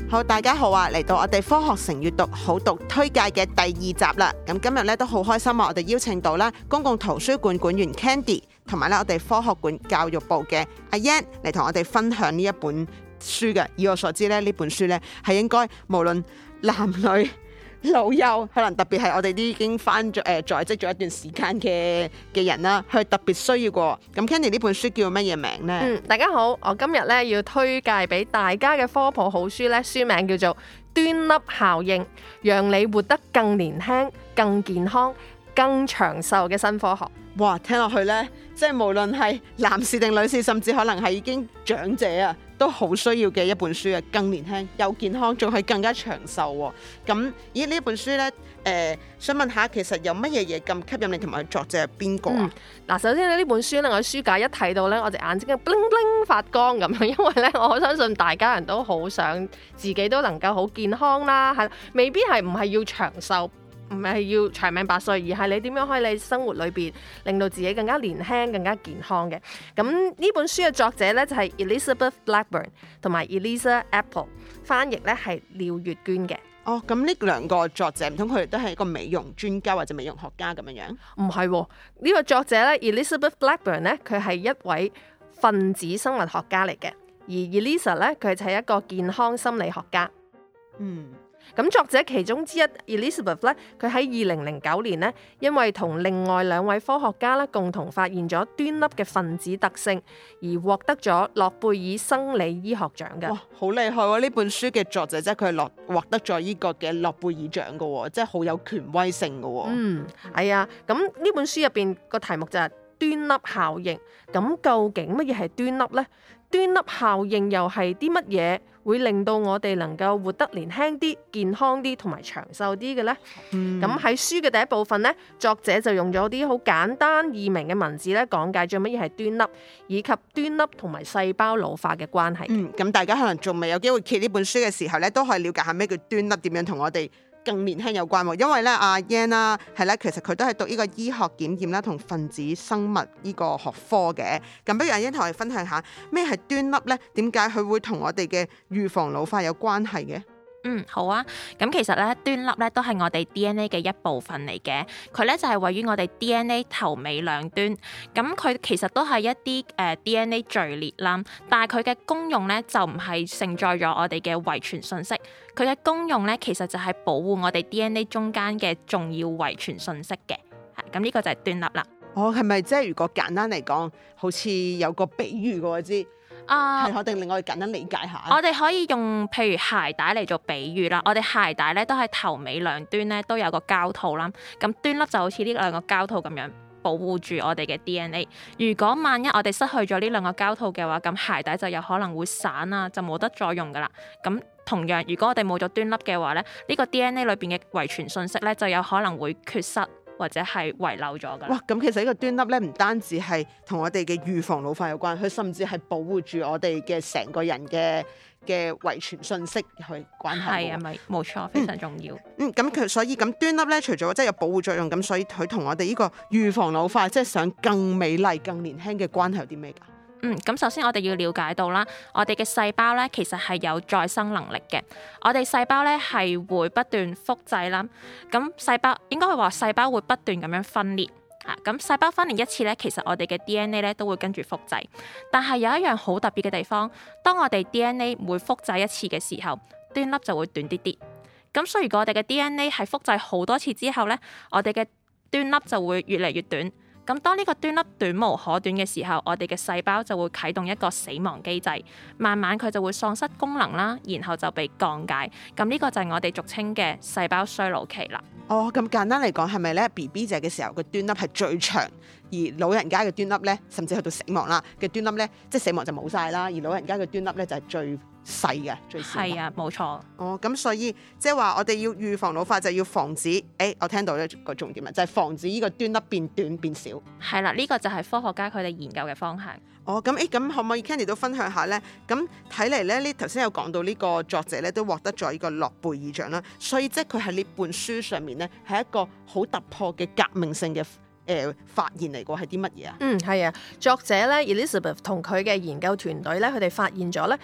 好，大家好啊！嚟到我哋科學城閱讀好讀推介嘅第2集啦。咁今日咧都好開心啊！我哋邀請到啦公共圖書館館員 Candy， 同埋咧我哋科學館教育部嘅阿 Yan 嚟同我哋分享呢一本書嘅。以我所知咧，呢本書咧係應該無論男女老幼，可能特別係我哋啲已經翻咗在職咗一段時間嘅人啦，佢特別需要過。咁 Candy 呢本書叫乜嘢名呢？ 大家好，我今日咧要推介俾大家嘅科普好書咧，書名叫做《端粒效應》，讓你活得更年輕、更健康、更長壽嘅新科學。 哇，聽落去呢，即係無論係男士定女士，甚至可能係已經長者啊，都好需要嘅一本書啊！更年輕又健康，仲係更加長壽喎。咁咦呢本書呢，想問下，其實有乜嘢嘢咁吸引你，同埋作者係邊個啊？ 嗱，首先呢本書呢，我書架一睇到呢，我隻眼睛 bling bling 發光咁樣，因為呢，我相信大家人都好想自己都能夠好健康啦，係未必唔係要長壽。唔係要長命百歲，而係你點樣可以喺生活裏邊令到自己更加年輕、更加健康嘅。咁呢本書嘅作者呢，就係 Elizabeth Blackburn 同埋 Elisa Apple， 翻譯呢係廖月娟嘅。 哦，咁呢兩個作者唔通佢哋都係一個美容專家或者美容學家咁樣樣？ 唔係喎，呢個作者呢 Elizabeth Blackburn 呢，佢係一位分子生物學家嚟嘅，而 Elisa 呢，佢就係一個健康心理學家。咁作者其中之一 Elizabeth 咧，佢喺2009年呢，因為同另外2位科學家咧共同發現咗端粒嘅分子特性，而獲得咗諾貝爾生理醫學獎嘅。哇， 好厲害喎！呢本書嘅作者即係佢係獲得咗呢個嘅諾貝爾獎嘅喎，即係好有權威性嘅喎。 係啊，咁呢本書入邊個題目就係端粒效應。咁究竟乜嘢係端粒呢？端粒效應又係啲乜嘢會令到我哋能夠活得年輕啲、健康啲同埋長壽啲嘅呢？咁喺書嘅第一部分呢，作者就用咗啲好簡單易明嘅文字咧，講解咗乜嘢係端粒，以及端粒同埋細胞老化嘅關係。 咁大家可能仲未有機會揭呢本書嘅時候咧，都可以了解下咩叫端粒，點樣同我哋更年輕有關喎。因為咧阿 Yan 啦，係咧，其實佢都係讀呢個醫學檢驗啦同分子生物呢個學科嘅。咁不如阿 Yan 同我哋分享下咩係端粒咧？點解佢會同我哋嘅預防老化有關係嘅？ 好啊。咁其實咧，端粒咧都係我哋 DNA 嘅一部分嚟嘅。佢咧就係位於我哋 DNA 頭尾兩端。咁佢其實都係一啲DNA 序列啦，但係佢嘅功用咧就唔係承載咗我哋嘅遺傳信息。佢嘅功用咧其實就係保護我哋 DNA 中間嘅重要遺傳信息嘅。咁呢個就係端粒啦。 係咪即係如果簡單嚟講，好似有個比喻嘅我知？係我哋令我哋簡單理解下。 我哋可以用譬如鞋帶嚟做比喻啦。我哋鞋帶咧都係頭尾兩端咧都有個膠套啦。咁端粒就好似呢2個膠套咁樣保護住我哋嘅 DNA。如果萬一我哋失去咗呢2個膠套嘅話，咁鞋帶就有可能會散啊，就冇得再用噶啦。咁同樣，如果我哋冇咗端粒嘅話咧，呢個 DNA 裏邊嘅遺傳信息咧就有可能會缺失，或者係遺漏咗㗎。 哇！咁其實呢個端粒咧，唔單止係同我哋嘅預防老化有關，佢甚至係保護住我哋嘅成個人嘅遺傳信息去關係。係啊， 咪冇錯，非常重要。 咁佢所以咁端粒咧，除咗即係有保護作用，咁所以佢同我哋呢個預防老化，即係想更美麗、更年輕嘅關係有啲咩㗎？ 咁首先我哋要了解到啦，我哋嘅細胞咧其實係有再生能力嘅。我哋細胞咧係會不斷複製啦，咁細胞應該係話細胞會不斷咁樣分裂啊。咁細胞分裂一次咧，其實我哋嘅 DNA 咧都會跟住複製。但係有一樣好特別嘅地方，當我哋 DNA 每複製一次嘅時候，端粒就會短啲啲。咁所以如果我哋嘅 DNA 係複製好多次之後咧，我哋嘅端粒就會越嚟越短。咁當呢個端粒短無可短嘅時候，我哋嘅細胞就會啟動一個死亡機制，慢慢佢就會喪失功能啦，然後就被降解。咁呢個就係我哋俗稱嘅細胞衰老期啦。 咁簡單嚟講，係咪咧 BB 仔嘅時候個端粒係最長，而老人家嘅端粒咧，甚至去到死亡啦嘅端粒咧，即係死亡就冇晒啦，而老人家嘅端粒咧就係最細嘅，最少。 係啊，冇錯。 咁所以即係話我哋要預防老化，就要防止我聽到呢個重點啦，就係防止呢個端粒變短變少。 係啦，呢個就係科學家佢哋研究嘅方向。 咁可唔可以 Candy 都分享下咧？咁睇嚟咧，呢頭先有講到呢個作者咧都獲得咗呢個諾貝爾獎啦，所以即係佢喺呢本書上面咧係一個好突破嘅革命性嘅發現嚟㗎，係啲乜嘢啊？ 係啊，作者咧 Elizabeth 同佢嘅研究團隊咧，佢哋發現咗咧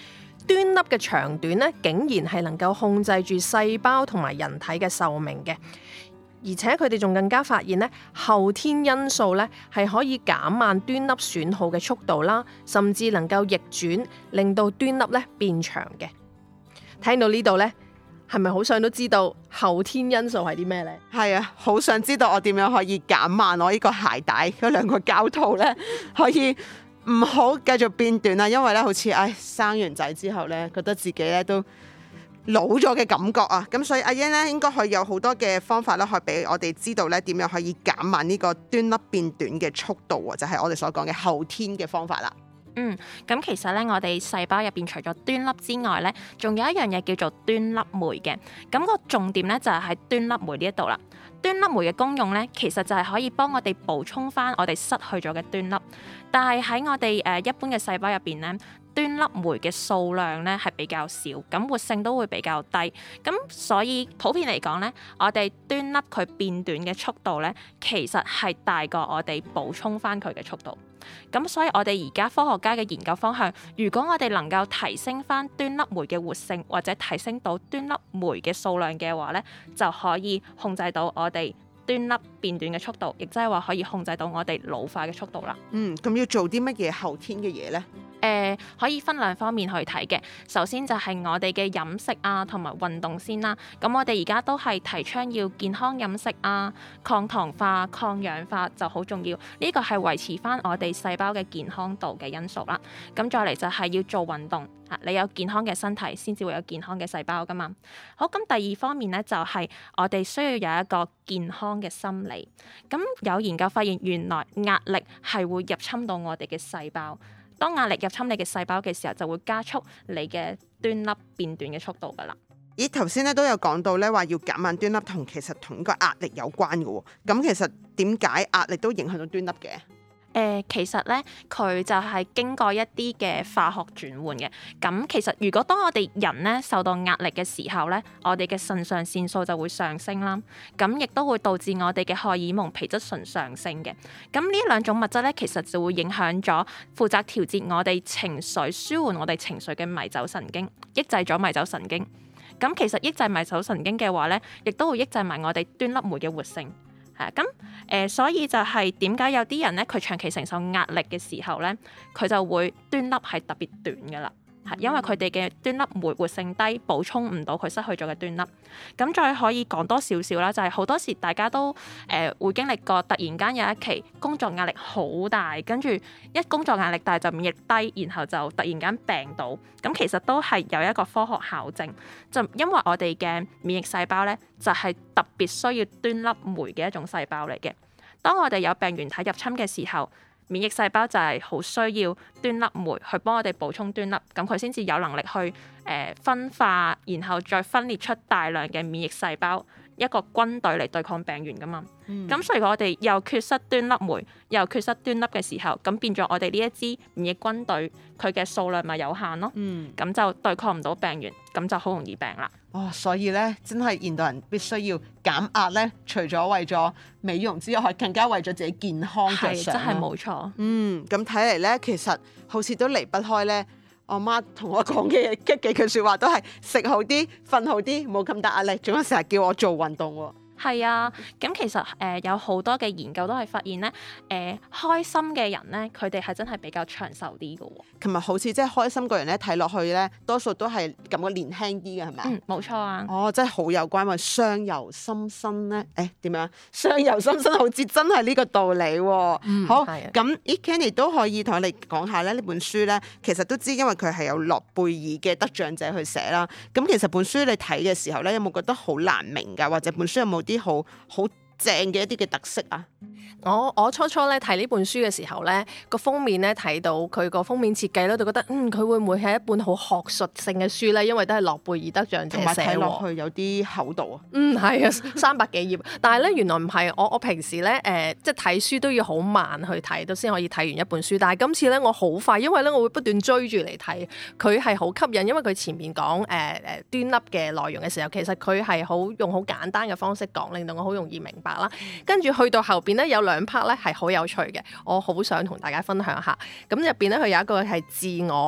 端粒嘅長短咧，竟然係能夠控制住細胞同埋人體嘅壽命嘅。而且佢哋仲更加發現咧，後天因素咧係可以減慢端粒損耗嘅速度啦，甚至能夠逆轉，令到端粒咧變長嘅。聽到呢度咧，係咪好想都知道後天因素係啲咩呢？ 係啊，好想知道我點樣可以減慢我呢個鞋帶嗰兩個膠套咧，可以唔好繼續變短啦。因為咧，好似生完仔之後咧，覺得自己咧都老咗嘅感覺啊。咁所以阿英咧應該可以有好多嘅方法咧，可以俾我哋知道咧點樣可以減慢呢個端粒變短嘅速度啊，就係我哋所講嘅後天嘅方法啦。 咁其實咧，我哋細胞入邊除咗端粒之外咧，仲有一樣嘢叫做端粒酶嘅。咁個重點咧就係喺端粒酶呢一度啦。端粒酶嘅功用咧，其實就係可以幫我哋補充翻我哋失去咗嘅端粒。但係喺我哋一般嘅細胞入邊咧，端粒酶嘅數量咧係比較少，咁活性都會比較低。咁所以普遍嚟講咧，我哋端粒佢變短嘅速度咧，其實係大過我哋補充翻佢嘅速度。咁所以我哋而家科學家嘅研究方向，如果我哋能夠提升翻端粒酶嘅活性，或者提升到端粒酶嘅數量嘅話咧，就可以控制到我哋端粒變短嘅速度，亦即係話可以控制到我哋老化嘅速度啦。 咁要做啲乜嘢後天嘅嘢呢？ 可以分兩方面去睇嘅。首先就係我哋嘅飲食啊，同埋運動先啦。咁我哋而家都係提倡要健康飲食啊，抗糖化、抗氧化就好重要。呢個係維持翻我哋細胞嘅健康度嘅因素啦。咁再嚟就係要做運動，你有健康嘅身體先至會有健康嘅細胞噶嘛。好，咁第二方面咧就係我哋需要有一個健康嘅心理。咁有研究發現，原來壓力係會入侵到我哋嘅細胞。當壓力入侵你嘅細胞嘅時候，就會加速你嘅端粒變短嘅速度噶啦。 咦，頭先咧都有講到咧話要減慢端粒其實同呢個壓力有關嘅喎。咁其實點解壓力都影響到端粒嘅？ 其實咧，佢就係經過一啲嘅化學轉換嘅。咁其實如果當我哋人咧受到壓力嘅時候咧，我哋嘅腎上腺素就會上升啦。咁亦都會導致我哋嘅荷爾蒙皮質醇上升嘅。咁呢兩種物質咧，其實就會影響咗負責調節我哋情緒、舒緩我哋情緒嘅迷走神經，抑制咗迷走神經。咁其實抑制迷走神經嘅話咧，亦都會抑制埋我哋端粒酶嘅活性。所以就係點解有啲人咧，佢長期承受壓力嘅時候咧，佢就會端粒係特別短噶啦，因為佢哋嘅端粒酶活性低，補充唔到佢失去咗嘅端粒。咁再可以講多少少啦，就係好多時大家都會經歷過，突然間有一期工作壓力好大，跟住一工作壓力大就免疫低，然後就突然間病倒。咁其實都係有一個科學考證，就因為我哋嘅免疫細胞咧，就係特別需要端粒酶嘅一種細胞嚟嘅。當我哋有病原體入侵嘅時候，免疫細胞就係好需要端粒酶去幫我哋補充端粒，咁佢先至有能力去分化，然後再分裂出大量嘅免疫細胞，一個軍隊嚟對抗病原噶嘛。咁所以我哋又缺失端粒酶，又缺失端粒嘅時候，咁變咗我哋呢一支免疫軍隊，佢嘅數量咪有限咯。咁就對抗唔到病原，咁就好容易病啦。 所以咧，真係現代人必須要減壓咧，除咗為咗美容之外，更加為咗自己健康着想。 真係冇錯。 咁睇嚟咧，其實好似都離不開咧，我媽同我講嘅幾句説話都係食好啲、瞓好啲，冇咁大壓力，仲有成日叫我做運動喎。 係啊，咁其實有好多嘅研究都係發現咧，開心嘅人咧，佢哋係真係比較長壽啲嘅喎。 琴日好似即係開心個人咧，睇落去咧，多數都係感覺年輕啲嘅，係咪？ 冇錯啊。 真係好有關喎，相由心生咧，點樣？相由心生好似真係呢個道理喎。好，咁 Candy 都可以同我哋講下咧，呢本書咧，其實都知因為佢係有諾貝爾嘅得獎者去寫啦。咁其實本書你睇嘅時候咧，有冇覺得好難明㗎？或者本書有冇啲好正嘅一啲嘅特色啊？ 我初初咧睇呢本書嘅時候咧，個封面咧睇到佢個封面設計咧，就覺得佢會唔會係一本好學術性嘅書咧？因為都係諾貝爾得獎者寫喎，同埋睇落去有啲厚度啊。係啊，300幾頁。但係咧原來唔係，我平時咧即係睇書都要好慢去睇，都先可以睇完一本書。但係今次咧我好快，因為咧我會不斷追住嚟睇，佢係好吸引，因為佢前面講端粒嘅內容嘅時候，其實佢係用好簡單嘅方式講，令到我好容易明白啦。跟住去到後邊咧有2 part 咧係好有趣嘅，我好想同大家分享下。咁入邊咧佢有一個係自我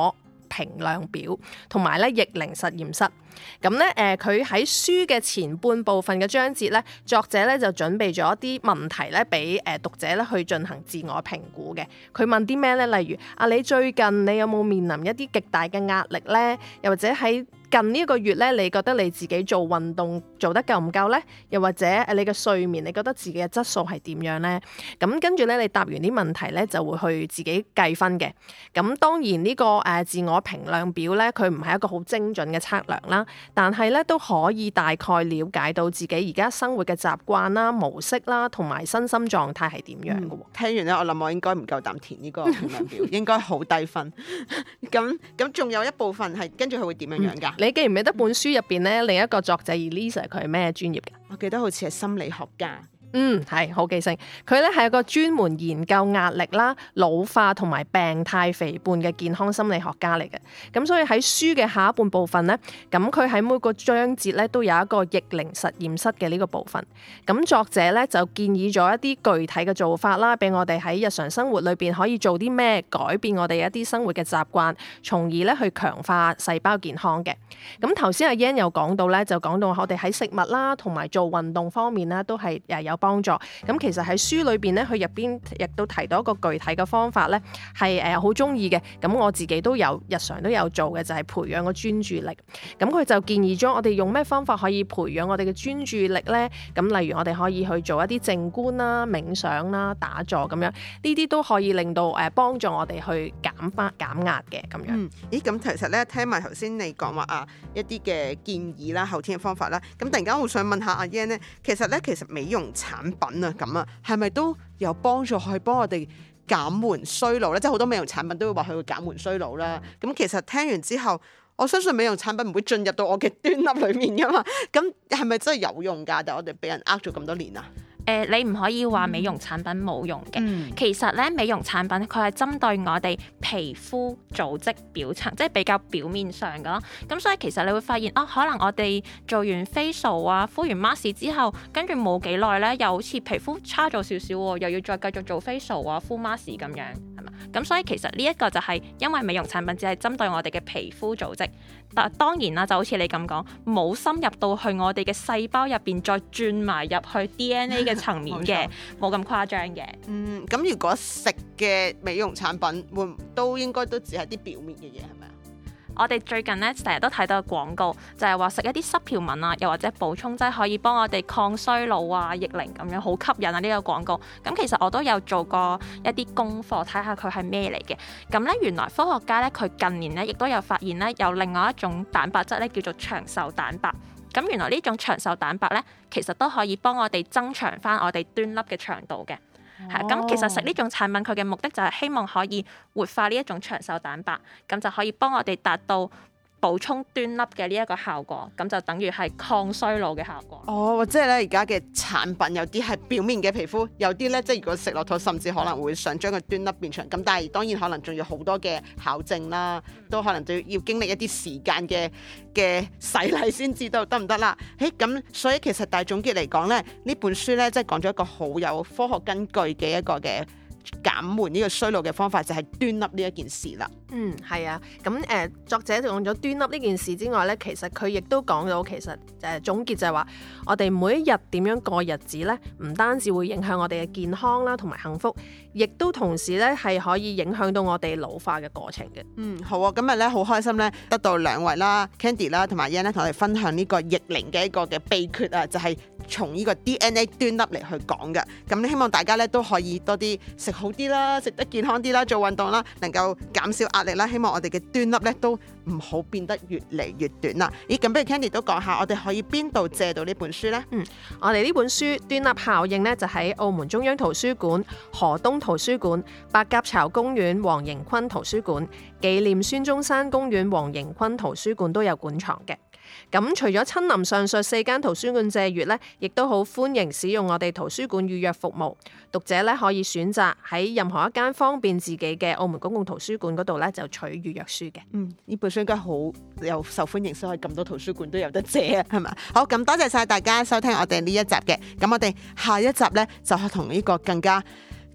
評量表同埋咧逆齡實驗室。咁咧佢喺書嘅前半部分嘅章節咧，作者咧就準備咗一啲問題咧俾讀者咧去進行自我評估嘅。佢問啲咩咧？例如你最近你有冇面臨一啲極大嘅壓力咧？又或者喺近呢一個月咧，你覺得你自己做運動做得夠唔夠呢？又或者你嘅睡眠，你覺得自己嘅質素係點樣呢？咁跟住咧，你答完啲問題咧，就會去自己計分嘅。咁當然呢個自我評量表咧，佢唔係一個好精準嘅測量啦，但係咧都可以大概了解到自己而家生活嘅習慣啦、模式啦，同埋身心狀態係點樣嘅喎。 聽完咧，我諗我應該唔夠膽填呢個評量表，應該好低分。咁仲有一部分係跟住佢會點樣樣㗎？ 你記唔記得本書入邊咧，另一個作者 Elisa 佢係咩專業嘅？ 我記得好似係心理學家。 係好記性。佢咧係一個專門研究壓力啦、老化同埋病態肥胖嘅健康心理學家嚟嘅。咁所以喺書嘅下一半部分咧，咁佢喺每個章節咧都有一個逆齡實驗室嘅呢個部分。咁作者咧就建議咗一啲具體嘅做法啦，俾我哋喺日常生活裏邊可以做啲咩改變我哋一啲生活嘅習慣，從而咧去強化細胞健康嘅。咁頭先阿 Yan 又講到咧，就講到我哋喺食物啦同埋做運動方面咧都係有幫助。咁其實喺書裏邊咧，佢入邊亦都提到一個具體嘅方法咧，係好中意嘅。咁我自己都有日常都有做嘅，就係培養個專注力。咁佢就建議咗我哋用咩方法可以培養我哋嘅專注力咧？咁例如我哋可以去做一啲靜觀啦、冥想啦、打坐咁樣，呢啲都可以令到幫助我哋去減壓嘅咁樣。 咦？咁其實咧，聽埋頭先你講話一啲嘅建議啦、後天嘅方法啦，咁突然間我想問下阿 Yan 咧，其實美容產品咁係咪都有幫助去幫我哋減緩衰老咧？即係好多美容產品都會話佢會減緩衰老啦。咁其實聽完之後，我相信美容產品唔會進入到我嘅端粒裏面噶嘛。咁係咪真係有用㗎？但係我哋俾人呃咗咁多年啊！ 你唔可以話美容產品冇用嘅。其實咧，美容產品佢係針對我哋皮膚組織表層，即係比較表面上㗎咯。咁所以其實你會發現可能我哋做完 facial 啊、敷完 mask 之後，跟住冇幾耐咧，又好似皮膚差咗少少喎，又要再繼續做 facial 啊、敷 mask 咁樣，係嘛？咁所以其實呢一個就係因為美容產品只係針對我哋嘅皮膚組織，但當然啦，就好似你咁講，冇深入到去我哋嘅細胞入邊，再轉埋入去 DNA 嘅層面嘅，冇咁誇張嘅。 咁如果食嘅美容產品都應該都只係啲表面嘅嘢，係咪啊？ 我哋最近咧成日都睇到廣告，就係話食一啲濕條紋啊，又或者補充劑可以幫我哋抗衰老啊、逆齡咁樣，好吸引啊！呢個廣告。咁其實我都有做過一啲功課，睇下佢係咩嚟嘅。咁咧原來科學家咧佢近年咧亦都有發現咧有另外一種蛋白質咧叫做長壽蛋白。咁原來呢種長壽蛋白咧，其實都可以幫我哋增長翻我哋端粒嘅長度嘅。咁其實食呢種產品佢嘅目的就係希望可以活化呢一種長壽蛋白，咁就可以幫我哋達到補充端粒嘅呢一個效果，咁就等於係抗衰老嘅效果。 即係咧而家嘅產品有啲係表面嘅皮膚，有啲咧即係如果食落肚，甚至可能會想將個端粒變長。咁但係當然可能仲要好多嘅考證啦，都可能都要經歷一啲時間嘅洗禮先知道得唔得啦。咁所以其實大總結嚟講咧，呢本書咧即係講咗一個好有科學根據嘅一個嘅減緩呢個衰老嘅方法，就係端粒呢一件事啦。 係啊。咁作者講咗端粒呢件事之外咧，其實佢亦都講到其實總結就係話，我哋每一日點樣過日子咧，唔單止會影響我哋嘅健康啦，同埋幸福，亦都同時咧係可以影響到我哋老化嘅過程嘅。 好啊！今日咧好開心咧，得到兩位啦 ，Candy 啦同埋 Yan 咧，同我哋分享呢個逆齡嘅一個嘅秘訣啊，就係從呢個 DNA 端粒嚟去講嘅。咁希望大家咧都可以多啲食好啲啦，食得健康啲啦，做運動啦，能夠減少壓力啦。希望我哋嘅端粒咧都唔好變得越嚟越短啦。咁不如 Candy 都講下，我哋可以邊度借到呢本書呢？ 我哋呢本書《端粒效應》呢，就喺澳門中央圖書館、河東圖書館、白鴿巢公園黃盈坤圖書館、紀念孫中山公園黃盈坤圖書館都有館藏嘅。咁除咗親臨上述4間圖書館借閱咧，亦都好歡迎使用我哋圖書館預約服務。讀者咧可以選擇喺任何一間方便自己嘅澳門公共圖書館嗰度咧就取預約書嘅。 呢本書應該好有受歡迎，所以咁多圖書館都有得借啊，係嘛？好，咁多謝晒大家收聽我哋呢一集嘅。咁我哋下一集咧就係同呢個更加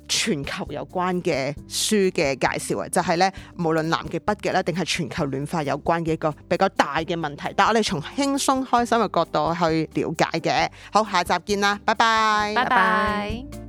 全球有關嘅書嘅介紹啊，就係咧無論南極北極咧，定係全球暖化有關嘅一個比較大嘅問題，但係我哋從輕鬆開心嘅角度去了解嘅。好，下集見啦，拜拜， 拜拜。